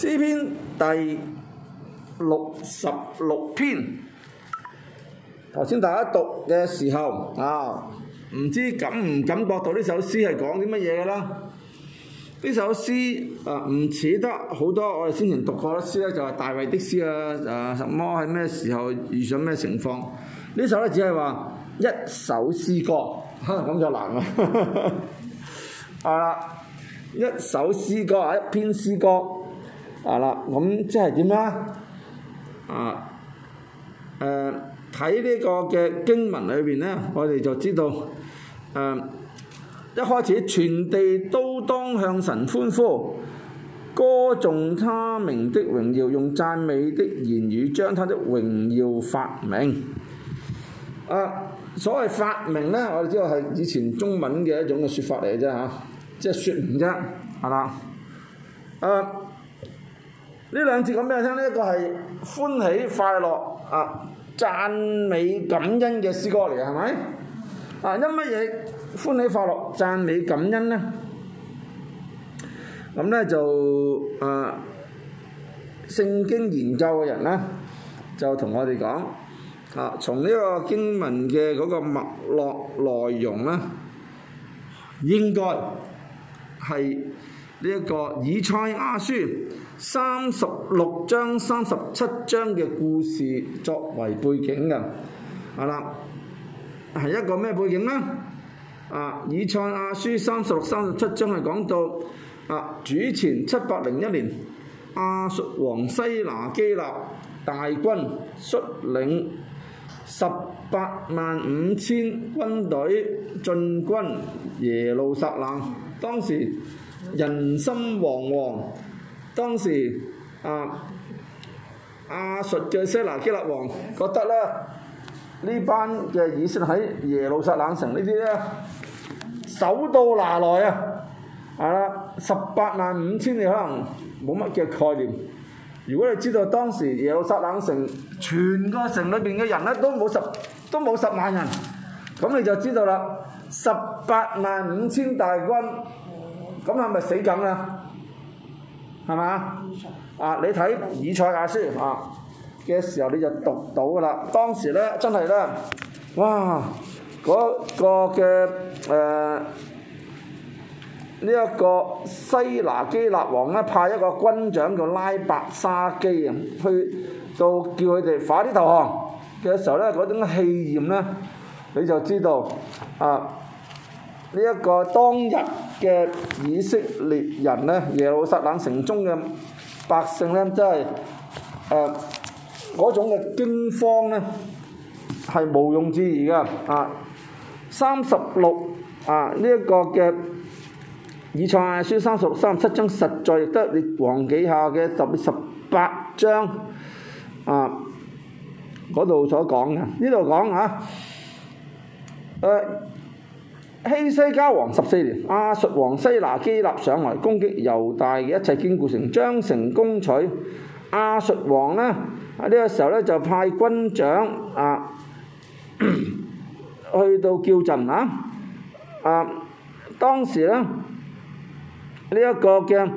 詩篇第66篇，頭先大家讀嘅時候唔知感唔感覺到呢首詩係講啲乜嘢嘅啦？呢首詩唔似得好多我哋先前讀過嘅詩咧，就係大衛的詩什麼喺咩時候遇上咩情況？呢首咧只係話一首詩歌，咁就難啦。一首詩歌一篇詩歌，咁即係點咧？睇呢個嘅經文裏邊咧，我哋就知道，一開始全地都當向神歡呼，歌頌他名的榮耀，用讚美的言語將他的榮耀發明。所謂發明咧，我哋知道係以前中文嘅一種嘅説法嚟嘅啫，即係説明啫，係啦。呢兩節講俾你聽，呢一個係歡喜快樂讚美感恩嘅詩歌嚟嘅，係咪？因乜嘢歡喜快樂讚美感恩咧？咁咧就聖經研究嘅人咧，就同我哋講從呢個經文嘅嗰個脈絡內容咧，應該係呢一個以賽亞書36章、37章嘅故事作為背景嘅，係一個咩背景呢？以賽亞書36、37章係講到主前701年，亞述王西拿基立大軍率領185000軍隊進軍耶路撒冷，當時人心惶惶，當時亞述嘅西拿基立王覺得咧，呢班嘅以色列喺耶路撒冷城呢啲咧手到拿來185000你可能冇乜嘅概念。如果你知道當時耶路撒冷城全個城裏邊嘅人咧都冇10萬人，咁你就知道啦。185000大軍，咁係咪死梗啊？係嘛？你睇以賽亞書嘅時候你就讀到噶啦。當時咧真係咧，哇！嗰個嘅呢一個西拿基立王咧派一個軍長叫拉伯沙基去到叫佢哋快啲投降嘅時候咧，嗰種氣焰咧，你就知道呢一個當日嘅以色列人咧，耶路撒冷城中嘅百姓咧，真係嗰種嘅驚慌咧，係毋庸置疑嘅。36呢一個嘅以賽亞書36、37章，實在亦都列王記下嘅18章嗰度所講嘅。呢度講希西家王14年，亞述王西拿基立上來攻擊猶大嘅一切堅固城，將城攻取。亞述王呢，喺呢個時候咧就派軍長去到叫陣當時咧呢一個嘅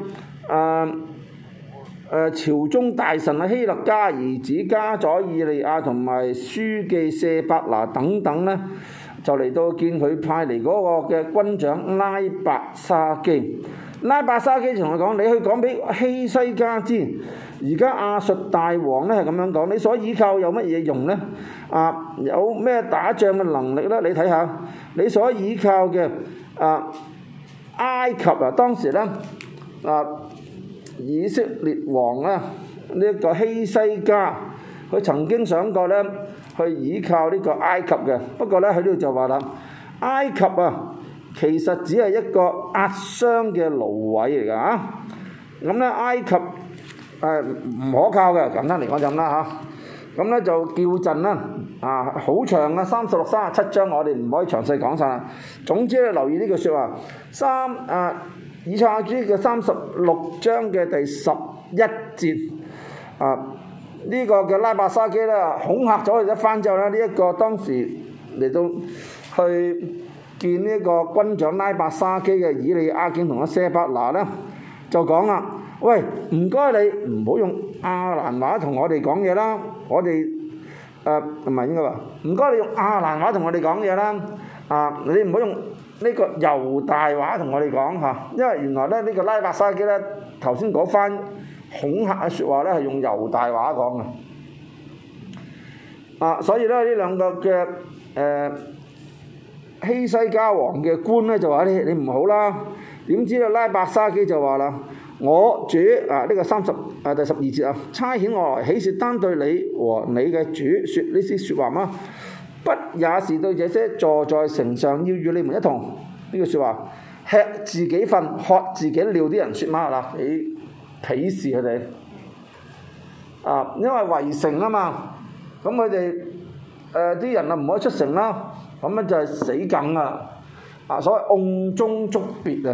朝中大臣希勒家兒子家宰以利亞同埋書記舍伯拿等等咧，就嚟到見佢派嚟嗰個嘅軍長拉伯沙基。拉伯沙基同佢講：你去講俾希西家知，而家亞述大王咧係咁樣講，你所依靠有乜嘢用咧？有咩打仗嘅能力咧？你睇下，你所依靠嘅埃及當時咧以色列王呢一個希西家，佢曾經想過咧去依靠呢個埃及嘅，不過咧喺呢度就話啦，埃及其實只係一個壓傷嘅蘆葦嚟㗎咁咧埃及唔可靠嘅，簡單嚟講就咁啦咁咧就叫陣啦好長36、37章，我哋唔可以詳細講晒啦。總之咧留意呢句説話，以賽亞書嘅36章嘅第11節呢個嘅拉伯沙基咧恐嚇咗佢一番之後咧，呢一個當時嚟到去見呢個軍長拉伯沙基嘅以利亞敬同阿舍伯拿咧就講啦， 喂，唔該你唔好用亞蘭話同我哋講嘢啦，我哋唔係應該話，唔該你用亞蘭話同我哋講嘢啦，你唔好用呢個猶大話同我哋講嚇，因為原來咧呢個拉伯沙基咧頭先嗰番恐嚇嘅説話咧係用猶大話講嘅，所以咧呢兩個嘅希西家王嘅官咧就話你唔好啦，點知咧拉伯沙基就話啦，我主呢個第12節差遣我來，豈是單對你和你嘅主説呢啲説話嗎？不也是對這些坐在城上要與你們一同呢句説話吃自己糞喝自己尿啲人説嗎？嗱，你鄙視佢哋因為圍城啊嘛，咁佢哋啲人唔可以出城啦，咁樣就係死梗啊！所謂甕中捉鱉啊！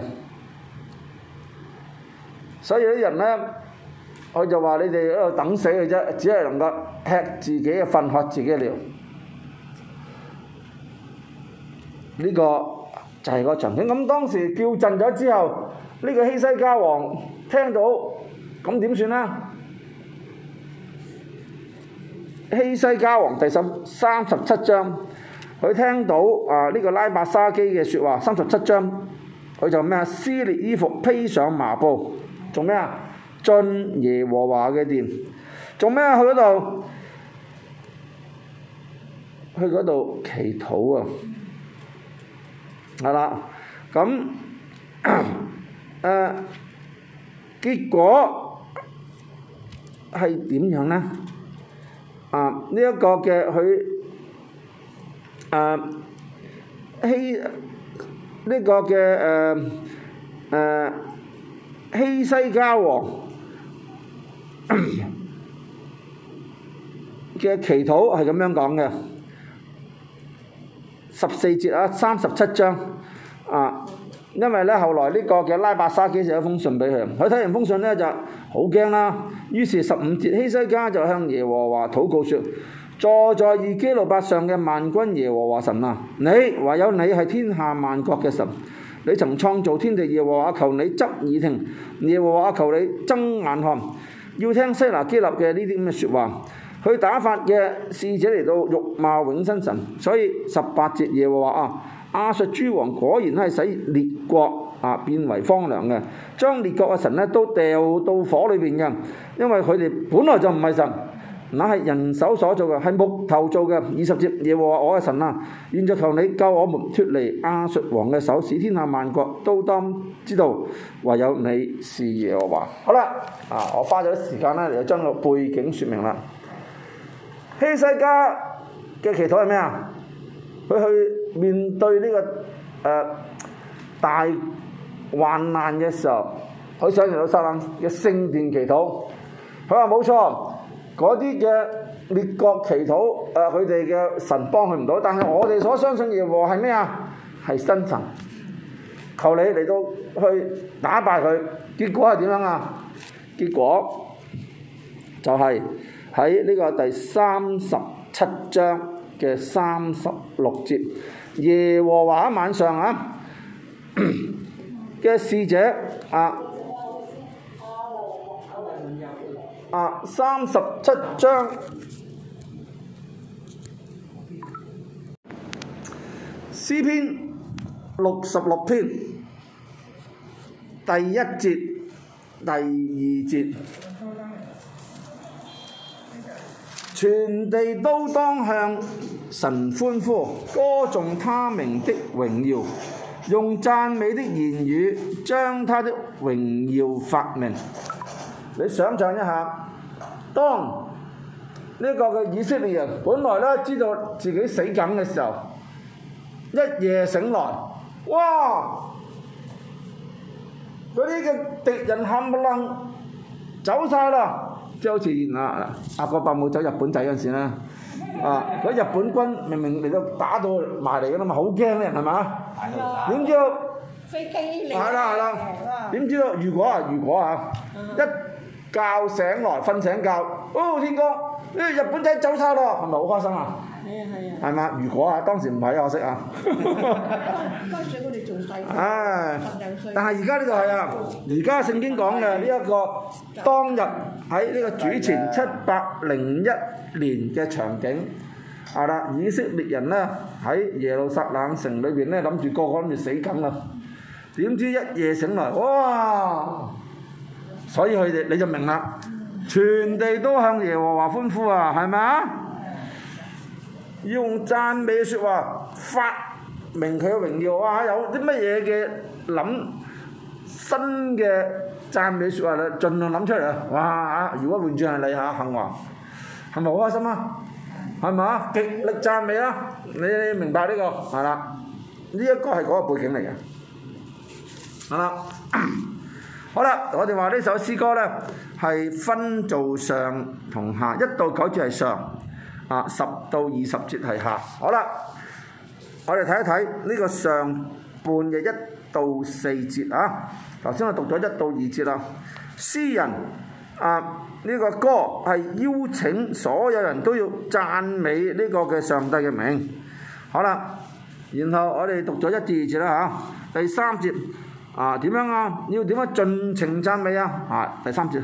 所以啲人咧，佢就話你哋喺度等死嘅啫，只係能夠吃自己嘅糞喝自己嘅尿。呢個就係個場景。咁當時叫陣咗之後，呢個希西家王聽到，咁點算咧？希西家王第37章，佢聽到呢個拉伯沙基嘅説話，37章，佢就咩撕裂衣服，披上麻布，做咩啊？進耶和華嘅殿，做咩啊？去嗰度祈禱啊！係啦，咁結果係點樣呢？呢一個嘅佢呢個嘅希西家王嘅祈禱係咁樣講嘅。14節37章因為咧後來呢個嘅拉伯沙基寫一封信俾佢，佢睇完封信咧就好驚啦。於是15節希西家就向耶和華禱告說：坐在二基路伯上嘅萬軍耶和華神啊，你唯有你係天下萬國嘅神，你曾創造天地，耶和華求你側耳聽，耶和華求你睜眼看，要聽西拿基立嘅呢啲咁嘅説話。佢打發嘅使者嚟到辱罵永生神，所以18節耶和華亞述諸王果然係使列國變為荒涼嘅，將列國嘅神咧都掉到火裏邊嘅，因為佢哋本來就唔係神，那係人手所做嘅，係木頭做嘅。20節耶和華我嘅神啊，現在求你救我們脫離亞述王嘅手，使天下萬國都當知道唯有你是耶和華。好啦，我花咗時間咧嚟將個背景説明啦。希西家嘅祈禱係咩啊？佢去面對呢個大患難嘅時候，佢上耶路撒冷嘅聖殿祈禱。佢話冇錯，嗰啲嘅列國祈禱，佢哋嘅神幫佢唔到，但係我哋所相信耶和華係咩啊？係真神，求你嚟到去打敗佢。結果係點樣啊？結果就係喺呢個第37章嘅36節，耶和華晚上嘅使者37章詩篇66篇第1節第2節，全地都當向神歡呼，歌頌他名的榮耀，用讚美的言語將他的榮耀發明。你想象一下，當呢個嘅以色列人本來咧知道自己死梗嘅時候，一夜醒來，哇！嗰啲嘅敵人冚唪唥走晒啦，即係好似阿國伯母走日本仔嗰陣時咧，嗰日本軍明明嚟到打到埋嚟㗎啦嘛，好驚啲人係嘛？點知道飛機嚟？係啦，點知道如果一覺醒來，瞓醒覺，哦天光，日本仔走晒咯，係咪好開心啊？係嘛？如果當時唔係可惜啊。 嗰陣時我哋仲細， 但係而家呢度係啊，而家聖經講嘅呢一個當日喺呢個主前701年嘅場景，係啦，以色列人咧喺耶路撒冷城裏邊咧諗住個個諗住死梗啦，點知一夜醒來，哇！所以佢哋你就明啦，全地都向耶和華歡呼啊，係咪啊？用讚美説話發明佢嘅榮耀啊！有啲乜嘢嘅諗新嘅讚美説話咧，盡量諗出嚟啊！哇！如果換轉係你嚇幸華，係咪好開心啊？係咪啊？極力讚美啊！你明白呢個係啦？呢一個係嗰個背景嚟嘅，係啦。好啦，我哋話呢首詩歌咧係分做上同下，1到9節係上，10到20節係下。好啦，我哋睇一睇呢個上半嘅1到4節啊。頭先我讀咗1到2節啦。詩人呢個歌係邀請所有人都要讚美呢個嘅上帝嘅名。好啦，然後我哋讀咗1至2節啦嚇。第3節。點樣啊？要點樣盡情讚美啊？第3節，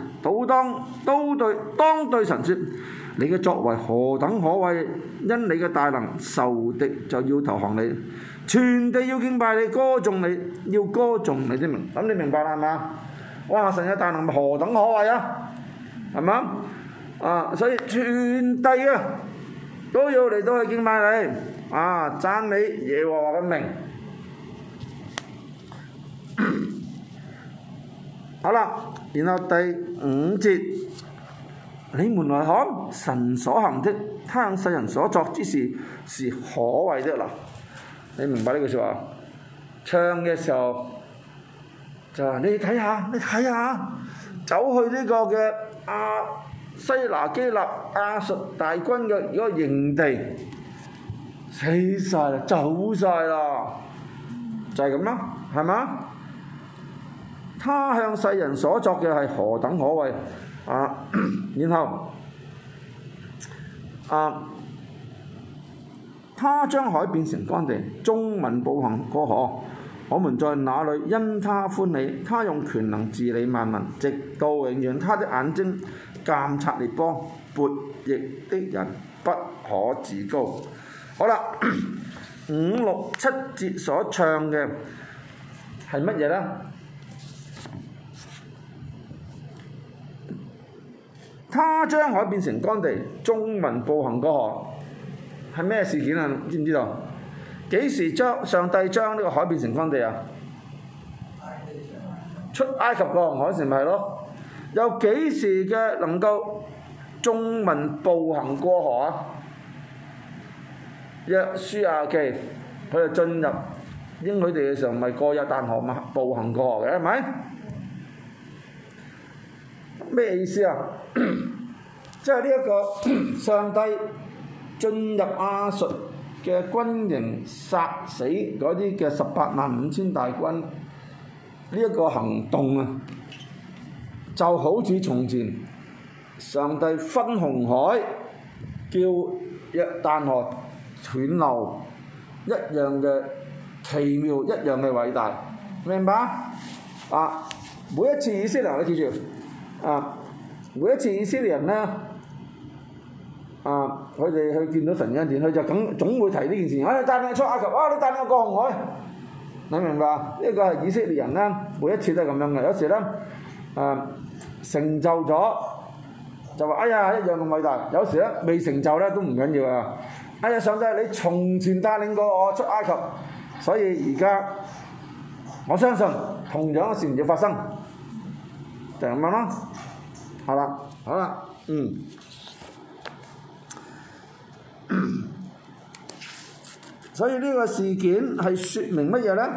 當對神說，你嘅作為何等可畏！因你嘅大能，仇敵就要投降你，全地要敬拜你，歌頌你，要歌頌你的名。咁你明白啦，係嘛？哇！神嘅大能何等可畏啊？係嘛？所以全地都要嚟到去敬拜你，讚美耶和華嘅名。好啦，然後第5節，你們來看神所行的，他向世人所作之事是可畏的啦。你明白呢句説話？唱嘅時候就話你睇下，走去呢個嘅西拿基立亞述大軍嘅嗰個營地，死晒啦，走晒啦，就係咁啦，係嘛？他向世人所作嘅係何等可畏然後他將海變成乾地，眾民步行過河，我們在那裏因他歡喜。他用權能治理萬民，直到永遠。他的眼睛監察列邦，悖逆的人不可自高。好啦，5、6、7節所唱嘅係乜嘢呢？他將海變成乾地，眾民步行過河，係咩事件啊？知唔知道？幾時上帝將呢個海變成乾地啊？出埃及過紅海時咪係咯？有幾時嘅能夠眾民步行過河啊？約書亞記佢哋進入應許地嘅時候，咪過約旦河嘛，步行過河嘅係咪？咩意思啊？即係呢一個上帝進入亞述嘅軍營，殺死嗰啲嘅185000大軍，呢一個行動啊，就好似從前上帝分紅海，叫約旦河斷流一樣嘅奇妙，一樣嘅偉大，明白？每一次以色列人，你記住。每一次以色列人呢，佢哋去見到神恩典，佢就總會提呢件事。你帶我出埃及，你帶我過紅海，你明白？呢個係以色列人呢，每一次都係咁樣嘅。有時呢，成就咗就話一樣咁偉大。有時呢，未成就呢都唔緊要啊。上帝你從前帶領過我出埃及，所以而家我相信同樣嘅事要發生。就咁樣咯，好啦，所以呢個事件係説明乜嘢呢？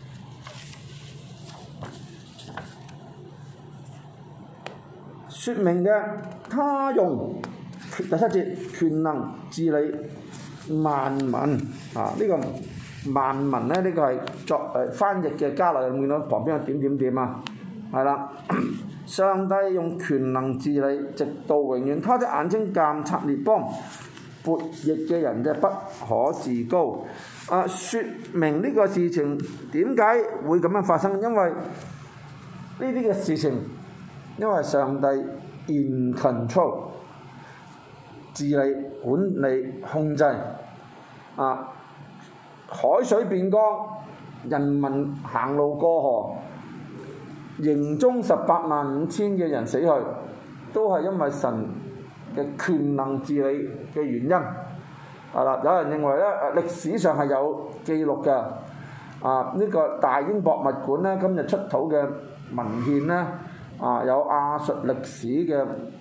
説明嘅，他用第7節權能治理萬民呢個萬民呢，呢個係作翻譯嘅加落，有冇見到旁邊有點點點啊？係啦， 上帝用權能治理，直到永遠。他的眼睛監察列邦，悖逆嘅人就不可自高。説明呢個事情點解會咁樣發生？因為呢啲嘅事情，因為上帝 in control 治理、管理、控制。海水變乾，人民行路過河，營中185000嘅人死去，都係因為神嘅權能治理嘅原因。有人認為咧，歷史上係有記錄嘅。呢個大英博物館咧，今日出土嘅文獻咧，有亞述歷史嘅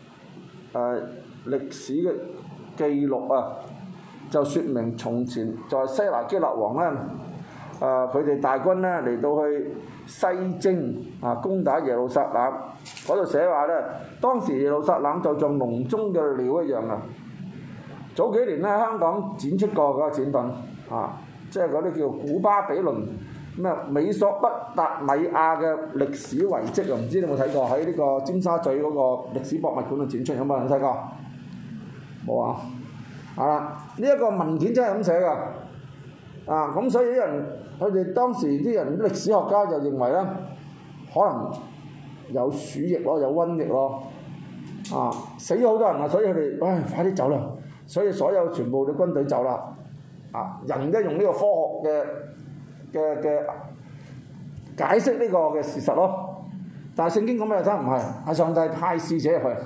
記錄啊，就説明從前在西拿基立王咧，佢哋大軍咧嚟到去西征攻打耶路撒冷，嗰度寫話咧，當時耶路撒冷就像籠中嘅鳥一樣啊！早幾年咧，香港展出過嗰個展品即係嗰啲叫古巴比倫咩美索不達米亞嘅歷史遺跡啊！唔知你有冇睇過？喺呢個尖沙咀嗰個歷史博物館度展出，有冇人睇過？冇啊！呢一個文件真係咁寫㗎。咁所以啲人，佢哋當時啲人歷史學家就認為咧，可能有鼠疫咯，有瘟疫咯，死咗好多人啊，所以佢哋快啲走啦，所以所有全部嘅軍隊走啦，人都用呢個科學嘅解釋呢個嘅事實咯，但係聖經講咩就唔係，係上帝派使者入去，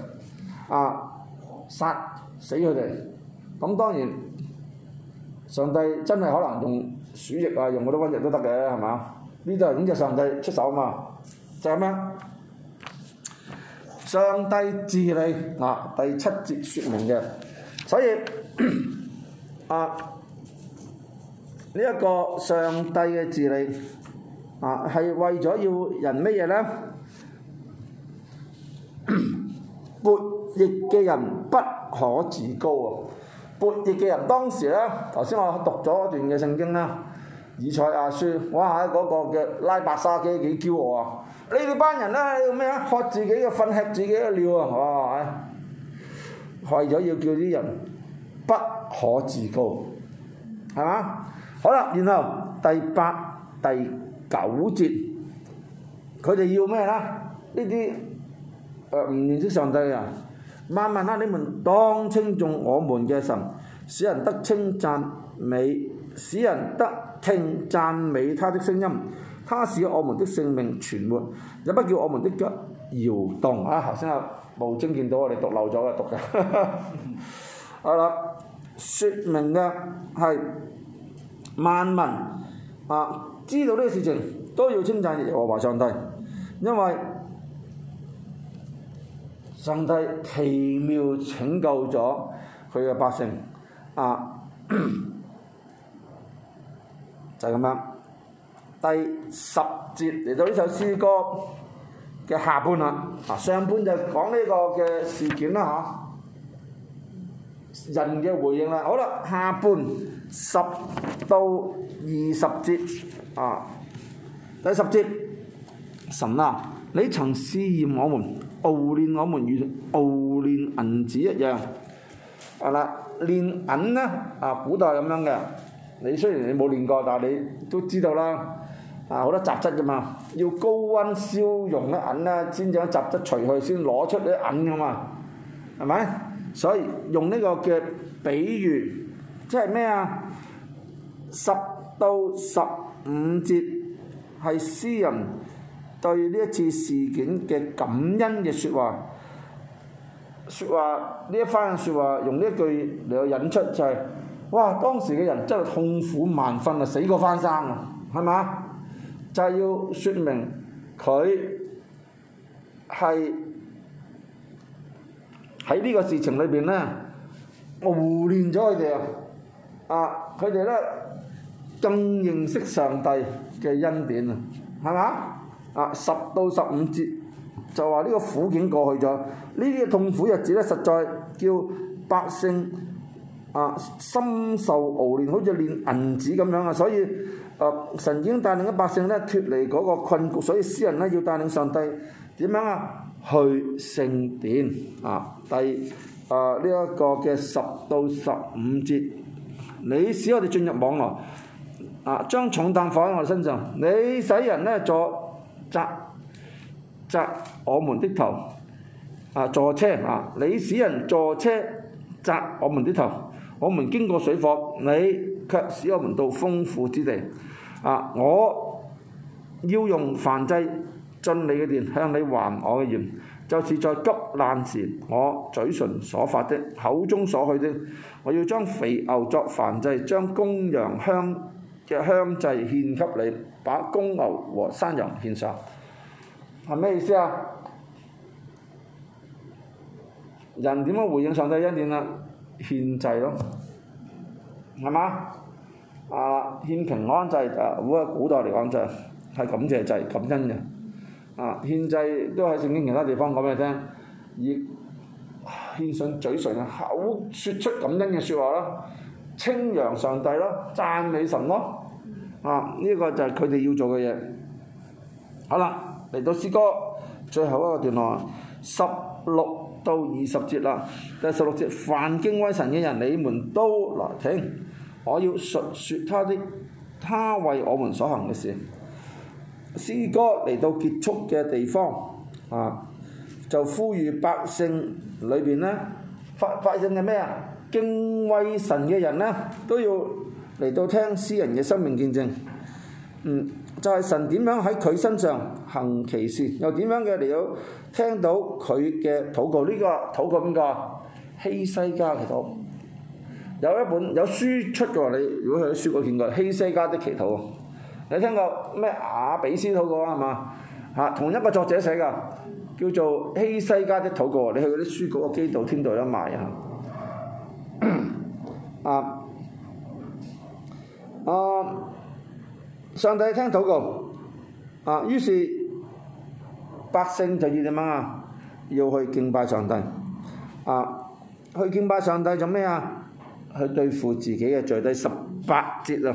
殺死佢哋，咁當然。上帝真係可能用鼠疫用嗰啲瘟疫都得嘅，係嘛？呢度係咁就上帝出手嘛，就係咁樣。上帝治理第7節説明嘅，所以呢一個上帝嘅治理係為咗要人乜嘢呢？悖逆嘅人不可自高啊！悖逆嘅人當時咧，頭先我讀咗一段嘅聖經啦，以賽亞書，哇！嗰個嘅拉伯沙基幾驕傲啊！你哋班人咧，要咩啊？喝自己嘅糞，吃自己嘅尿啊！哇！為咗要叫啲人不可自高，係嘛？好啦，然後第8、第9節，佢哋要咩啦？呢啲唔認識上帝啊！萬民啊！你們當稱頌我們嘅神，使人得稱讚美，使人得聽讚美他的聲音。他使我們的性命存活，也不叫我們的腳搖動。頭先無精見到我哋讀漏咗嘅讀嘅。好啦，説明嘅係萬民知道呢個事情都要稱讚耶和華上帝，因為上帝奇妙拯救咗佢嘅百姓，就係咁樣。第10節嚟到呢首詩歌嘅下半啦，上半就講呢個嘅事件啦人嘅回應啦。好啦，下半10到20節第10節，神啊，你曾試驗我們，熬煉我們如熬煉銀子一樣。煉銀呢古代咁樣嘅，你雖然你冇煉過，但係你都知道啦。好多雜質㗎嘛，要高溫燒溶啲銀啦，先將雜質除去，先攞出啲銀㗎嘛，係咪？所以用呢個嘅比喻，即係咩啊？10到15節係詩人對呢一次事件嘅感恩嘅説話，呢一番説話用呢一句嚟去引出就係、哇！當時嘅人真係痛苦萬分啊，死過翻生啊，係嘛？就係要説明佢係喺呢個事情裏邊咧，熬煉咗佢哋佢哋咧更認識上帝嘅恩典啊，係嘛？10到15節就話呢個苦境過去咗，呢啲嘅痛苦日子咧，實在叫百姓深受熬煉，好似煉銀子咁樣啊！所以神已經帶領咗百姓咧脫離嗰個困局，所以詩人咧要帶領上帝點樣去聖殿啊。第呢一個嘅10到15節，你使我哋進入網羅啊，將重擔放喺我哋身上，你使人咧坐責我們的頭啊，坐車啊，你使人坐車責我們的頭，我們經過水火，你卻使我們到豐富之地啊！我要用燔祭進你嘅殿，向你還我嘅願，就是在急難時我嘴唇所發的，口中所許的。我要將肥牛作燔祭，將公羊嘅香祭獻給你，把公牛和山羊獻上。係咩意思啊？人點樣回應上帝恩典啊？獻祭咯，係嘛？獻平安祭古代嚟講就係感謝祭、感恩嘅。獻祭都喺聖經其他地方講俾你聽，以獻上嘴唇口説出感恩嘅説話咯，稱揚上帝咯，讚美神咯。呢個就係佢哋要做嘅嘢。好啦，嚟到詩歌最後一個段落，16到20節啦。第16節，凡敬畏神嘅人，你們都來聽，我要述説他為我們所行嘅事。詩歌嚟到結束嘅地方就呼籲百姓裏邊呢，百姓嘅咩啊？敬畏神嘅人呢，都要嚟到聽詩人嘅生命見證。就係神點樣喺佢身上行奇事，又點樣嘅嚟到聽到佢嘅禱告。呢個禱告邊個？希西家祈禱。有書出嘅，你如果喺書嗰見過希西家的祈禱，你聽過咩雅比斯禱告啊？係嘛？同一個作者寫㗎，叫做希西家的禱告。你去嗰啲書局個基道天道有賣上帝聽禱告於是百姓就要點樣啊？要去敬拜上帝去敬拜上帝做咩啊？去對付自己嘅罪。第18節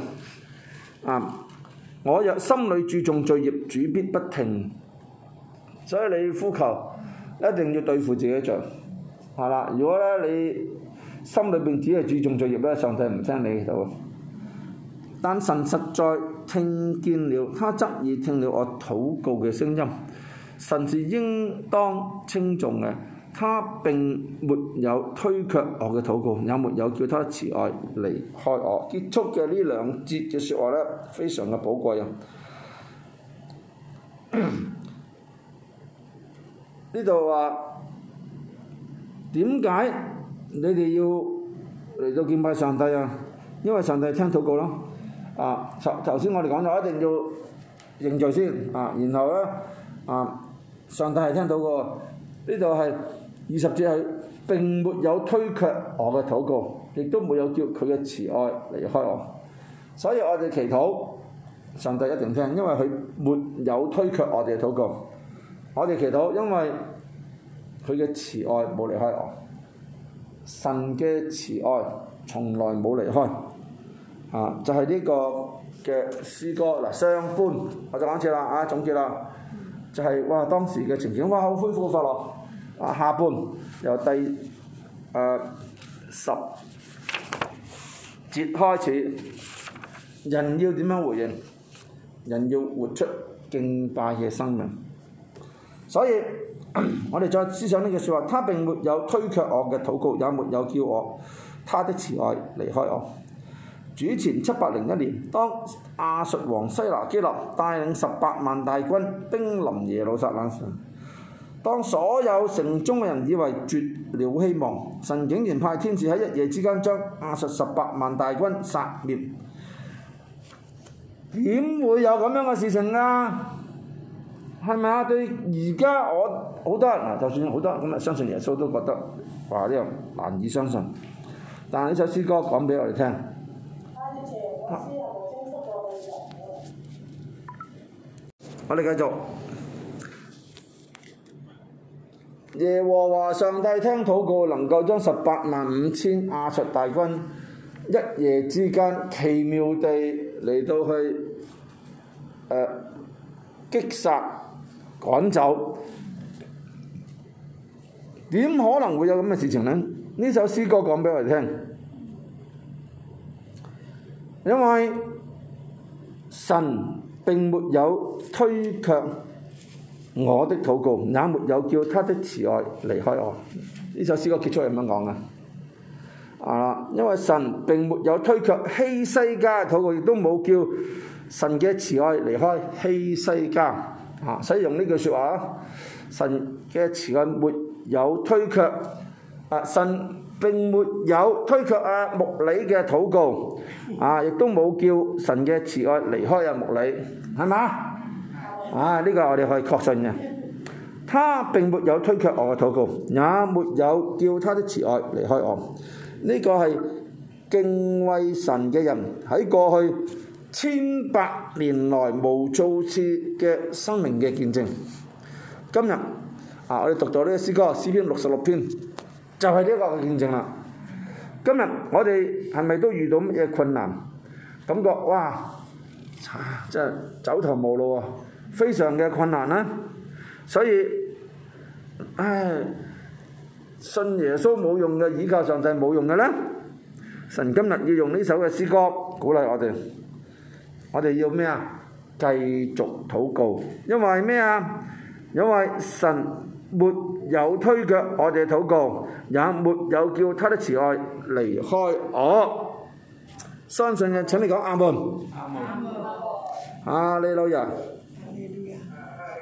我若心裏注重罪孽，主必不聽。所以你呼求一定要對付自己嘅罪，係啦。如果咧你心裏邊只係注重罪孽咧，上帝唔聽你祈禱。但神實在聽見了，他側耳聽了我禱告嘅聲音。神是應當稱頌嘅，他並沒有推卻我嘅禱告，也沒有叫他慈愛離開我。結束嘅呢2節嘅説話咧，非常嘅寶貴啊！呢度話點解你哋要嚟到敬拜上帝啊？因為上帝聽禱告咯。頭先我哋講咗一定要認罪先然後咧上帝係聽到過。呢度係20節係並沒有推卻我嘅禱告，亦都沒有叫佢嘅慈愛離開我。所以我哋祈禱，上帝一定聽，因為佢沒有推卻我哋嘅禱告。我哋祈禱，因為佢嘅慈愛冇離開我。神嘅慈愛從來冇離開。就係呢個嘅詩歌上半我就講次啦總結啦，就係當時嘅情景好恢復快樂。下半由第10節開始，人要點樣回應？人要活出敬拜嘅生命。所以我哋再思想呢句説話，他並沒有推卻我嘅禱告，也沒有叫他的慈愛離開我。主前701年，當亞述王西拿基立帶領18萬大軍兵臨耶路撒冷時，當所有城中嘅人以為絕了希望，神竟然派天使喺一夜之間將亞述18萬大軍殺滅。點會有咁樣嘅事情啊？係咪啊？對而家我好多人就算好多人咁相信耶穌都覺得呢樣難以相信。但係呢首詩歌講俾我哋聽。我哋繼續。耶和華上帝聽禱告，能夠將185000亞述大軍一夜之間奇妙地嚟到去擊殺趕走， 點可能會有咁嘅事情呢？呢首詩歌講俾我哋聽，因為神並沒有推卻我的禱告，也沒有叫他的慈愛離開我。呢首詩歌結束係咁樣講嘅。因為神並沒有推卻希西家嘅禱告，亦都冇叫神嘅慈愛離開希西家。所以用呢句説話，神嘅慈愛沒有推卻，神並沒有推卻牧理嘅禱告，亦都冇叫神嘅慈愛離開牧理，係嘛？呢個我哋可以確信嘅。他並沒有推卻我嘅禱告，也沒有叫他的慈愛離開我。呢個係敬畏神嘅人喺過去千百年來無數次嘅生命嘅見證。今日我哋讀到呢個詩歌詩篇66篇，就係呢一個嘅見證啦。今日我哋係咪都遇到乜嘢困難？感覺哇，真係走投無路啊，非常嘅困難啦。所以，信耶穌冇用嘅，倚靠上帝冇用嘅咧。神今日要用呢首嘅詩歌鼓勵我哋，我哋要咩啊？繼續禱告，因為咩啊？因為神沒有推卻我哋嘅禱告，也沒有叫他的慈愛離開我。相信嘅請你講阿門。阿門。哈利路亞。